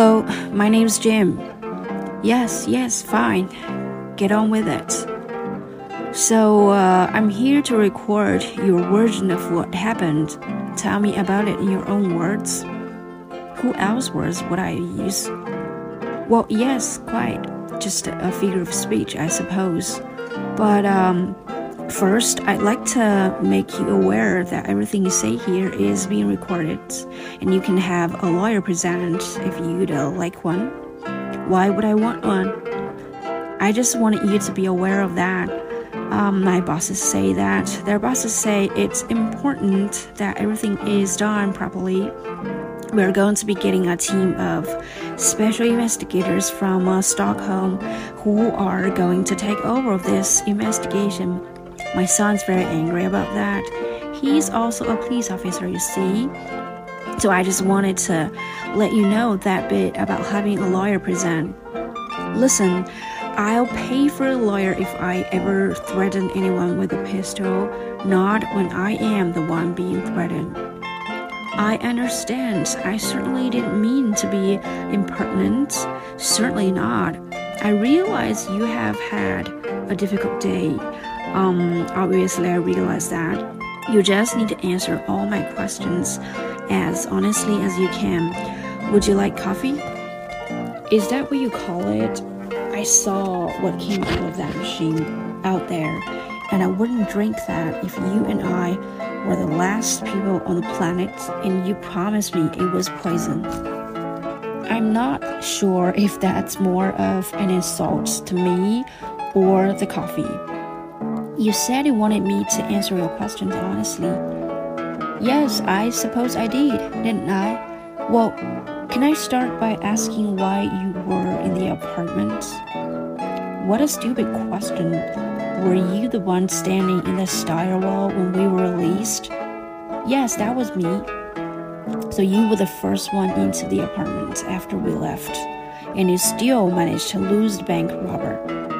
Hello, my name's Jim. Yes, fine. Get on with it. So, I'm here to record your version of what happened. Tell me about it in your own words. Who else words would I use? Well, yes, quite. Just a figure of speech, I suppose. But, first, I'd like to make you aware that everything you say here is being recorded, and you can have a lawyer present if you'd like one. Why would I want one? I just wanted you to be aware of that. My bosses say that. Their bosses say it's important that everything is done properly. We're going to be getting a team of special investigators from Stockholm who are going to take over this investigation. My son's very angry about that. He's also a police officer, you see. So I just wanted to let you know that bit about having a lawyer present. Listen, I'll pay for a lawyer if I ever threaten anyone with a pistol, not when I am the one being threatened. I understand. I certainly didn't mean to be impertinent. Certainly not. I realize you have had a difficult day. Obviously I realize that. You just need to answer all my questions as honestly as you can. Would you like coffee? Is that what you call it? I saw what came out of that machine out there, and I wouldn't drink that if you and I were the last people on the planet and you promised me it was poison. I'm not sure if that's more of an insult to me or the coffee. You said you wanted me to answer your questions honestly. Yes, I suppose I did, didn't I? Well, can I start by asking why you were in the apartment? What a stupid question. Were you the one standing in the stairwell when we were released? Yes, that was me. So you were the first one into the apartment after we left, and you still managed to lose the bank robber.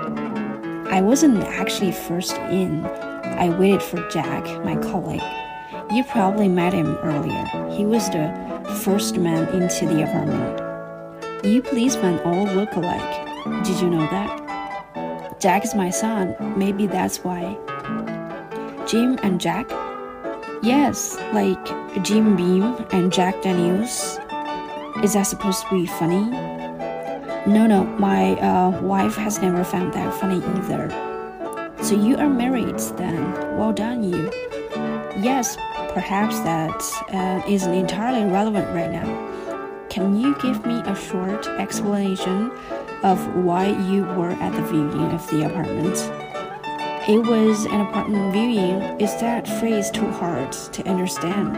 I wasn't actually first in. I waited for Jack, my colleague. You probably met him earlier. He was the first man into the apartment. You policemen all look alike. Did you know that? Jack is my son. Maybe that's why. Jim and Jack? Yes, like Jim Beam and Jack Daniels. Is that supposed to be funny? No, my wife has never found that funny either. So you are married then. Well done, you. Yes, perhaps that isn't entirely relevant right now. Can you give me a short explanation of why you were at the viewing of the apartment? It was an apartment viewing. Is that phrase too hard to understand?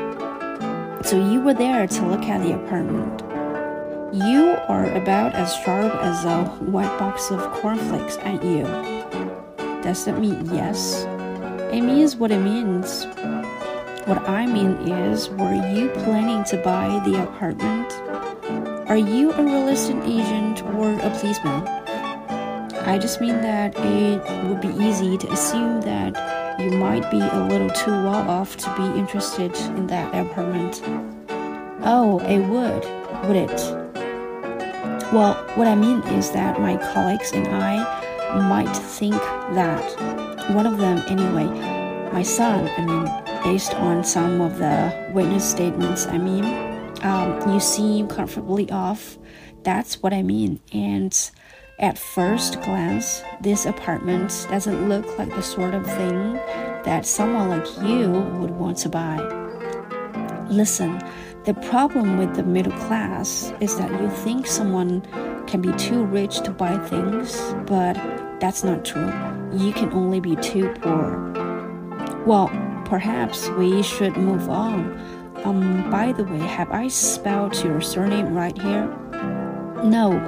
So you were there to look at the apartment. You are about as sharp as a white box of cornflakes, aren't you? Does that mean yes? It means what it means. What I mean is, were you planning to buy the apartment? Are you a real estate agent or a policeman? I just mean that it would be easy to assume that you might be a little too well off to be interested in that apartment. Oh, it would it? Well, what I mean is that my colleagues and I might think that. One of them anyway. My son, based on some of the witness statements, you seem comfortably off. That's what I mean. And at first glance, this apartment doesn't look like the sort of thing that someone like you would want to buy. Listen, the problem with the middle class is that you think someone can be too rich to buy things, but that's not true. You can only be too poor. Well, perhaps we should move on. By the way, have I spelled your surname right here? No?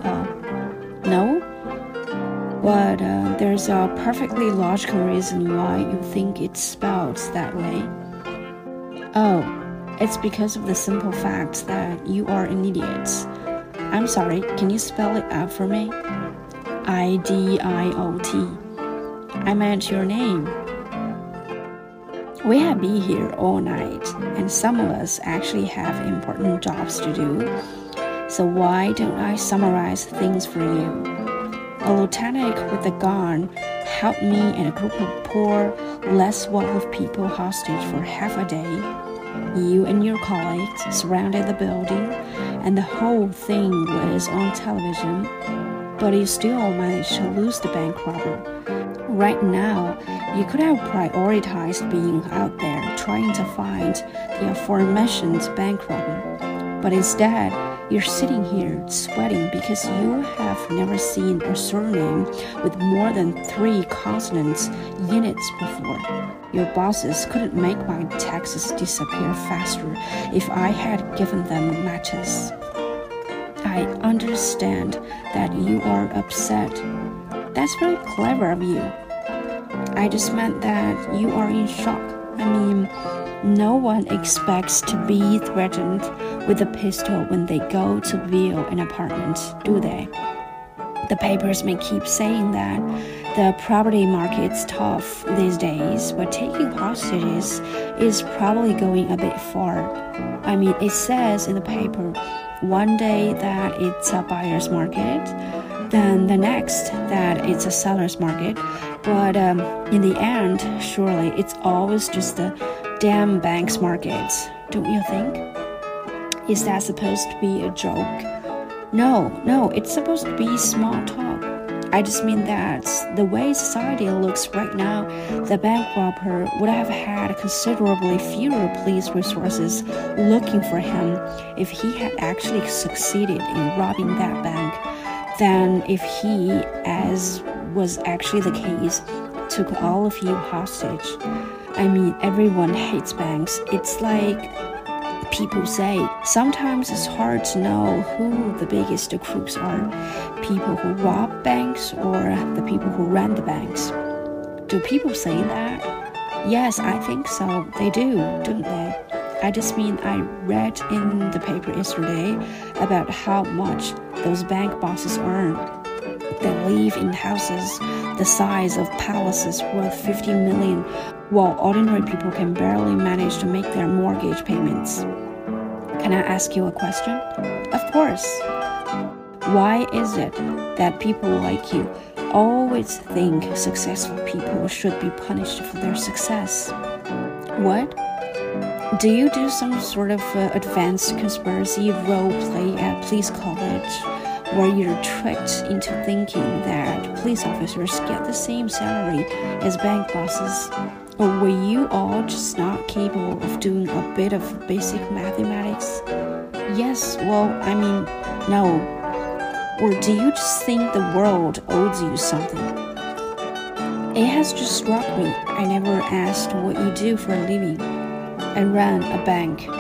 But there's a perfectly logical reason why you think it's spelled that way. Oh, it's because of the simple fact that you are an idiot. I'm sorry, can you spell it out for me? I-D-I-O-T. I meant your name. We have been here all night, and some of us actually have important jobs to do. So why don't I summarize things for you? A lieutenant with a gun held me and a group of poor, less well-off people hostage for half a day. You and your colleagues surrounded the building, and the whole thing was on television, but you still managed to lose the bank robber. Right now, you could have prioritized being out there trying to find the aforementioned bank robber, but instead, you're sitting here sweating because you have never seen a surname with more than 3 consonants units before. Your bosses couldn't make my taxes disappear faster if I had given them matches. I understand that you are upset. That's very clever of you. I just meant that you are in shock. I mean, no one expects to be threatened with a pistol when they go to view an apartment, do they? The papers may keep saying that the property market's tough these days, but taking hostages is probably going a bit far. I mean, it says in the paper one day that it's a buyer's market, then the next that it's a seller's market, but in the end, surely it's always just the damn bank's market, don't you think? Is that supposed to be a joke? No, it's supposed to be small talk. I just mean that the way society looks right now, the bank robber would have had considerably fewer police resources looking for him if he had actually succeeded in robbing that bank than if he, as was actually the case, took all of you hostage. I mean, everyone hates banks. It's like people say, sometimes it's hard to know who the biggest crooks are, people who rob banks or the people who run the banks. Do people say that? Yes, I think so. They do, don't they? I just mean I read in the paper yesterday about how much those bank bosses earn. They live in houses the size of palaces worth 50 million, while ordinary people can barely manage to make their mortgage payments. Can I ask you a question? Of course. Why is it that people like you always think successful people should be punished for their success? What? Do you do some sort of advanced conspiracy role play at police college where you're tricked into thinking that police officers get the same salary as bank bosses? Or were you all just not capable of doing a bit of basic mathematics? Yes, well, I mean, no. Or do you just think the world owes you something? It has just struck me. I never asked what you do for a living. I run a bank.